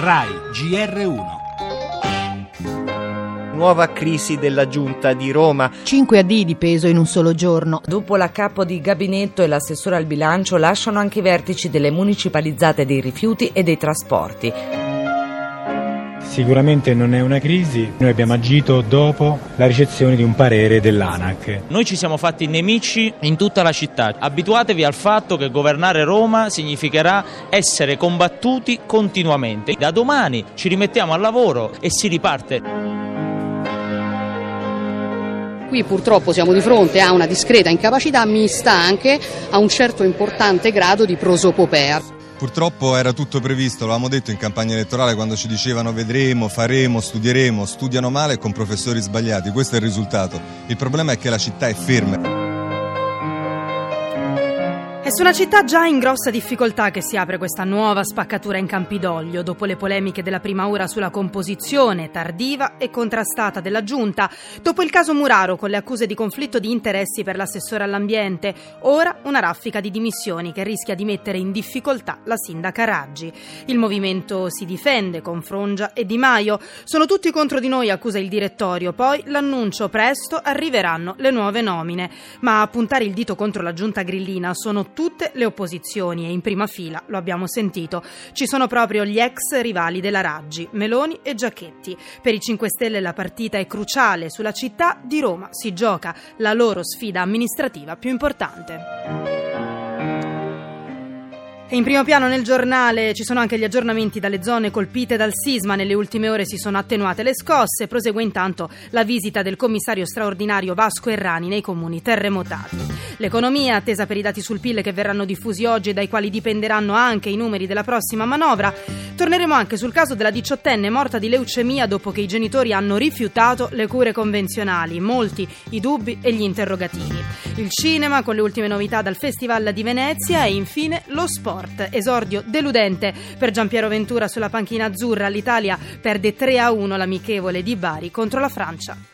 RAI GR1. Nuova crisi della giunta di Roma. 5 addii di peso in un solo giorno. Dopo la capo di gabinetto e l'assessore al bilancio lasciano anche i vertici delle municipalizzate dei rifiuti e dei trasporti. Sicuramente non è una crisi, noi abbiamo agito dopo la ricezione di un parere dell'ANAC. Noi ci siamo fatti nemici in tutta la città. Abituatevi al fatto che governare Roma significherà essere combattuti continuamente. Da domani ci rimettiamo al lavoro e si riparte. Qui purtroppo siamo di fronte a una discreta incapacità mista anche a un certo importante grado di prosopopea. Purtroppo era tutto previsto, l'avevamo detto in campagna elettorale quando ci dicevano vedremo, faremo, studieremo, studiano male e con professori sbagliati, questo è il risultato. Il problema è che la città è ferma. È su una città già in grossa difficoltà che si apre questa nuova spaccatura in Campidoglio, dopo le polemiche della prima ora sulla composizione tardiva e contrastata della giunta, dopo il caso Muraro con le accuse di conflitto di interessi per l'assessore all'ambiente, ora una raffica di dimissioni che rischia di mettere in difficoltà la sindaca Raggi. Il movimento si difende con Frongia e Di Maio, sono tutti contro di noi, accusa il direttorio, poi l'annuncio presto arriveranno le nuove nomine, ma a puntare il dito contro la giunta grillina sono tutte le opposizioni e in prima fila, lo abbiamo sentito, ci sono proprio gli ex rivali della Raggi, Meloni e Giachetti. Per i 5 Stelle la partita è cruciale, sulla città di Roma si gioca la loro sfida amministrativa più importante. E in primo piano nel giornale ci sono anche gli aggiornamenti dalle zone colpite dal sisma. Nelle ultime ore si sono attenuate le scosse, prosegue intanto la visita del commissario straordinario Vasco Errani nei comuni terremotati. L'economia, attesa per i dati sul PIL che verranno diffusi oggi e dai quali dipenderanno anche i numeri della prossima manovra. Torneremo anche sul caso della 18enne morta di leucemia dopo che i genitori hanno rifiutato le cure convenzionali. Molti i dubbi e gli interrogativi. Il cinema con le ultime novità dal Festival di Venezia e infine lo sport. Esordio deludente per Giampiero Ventura sulla panchina azzurra. L'Italia perde 3-1 l'amichevole di Bari contro la Francia.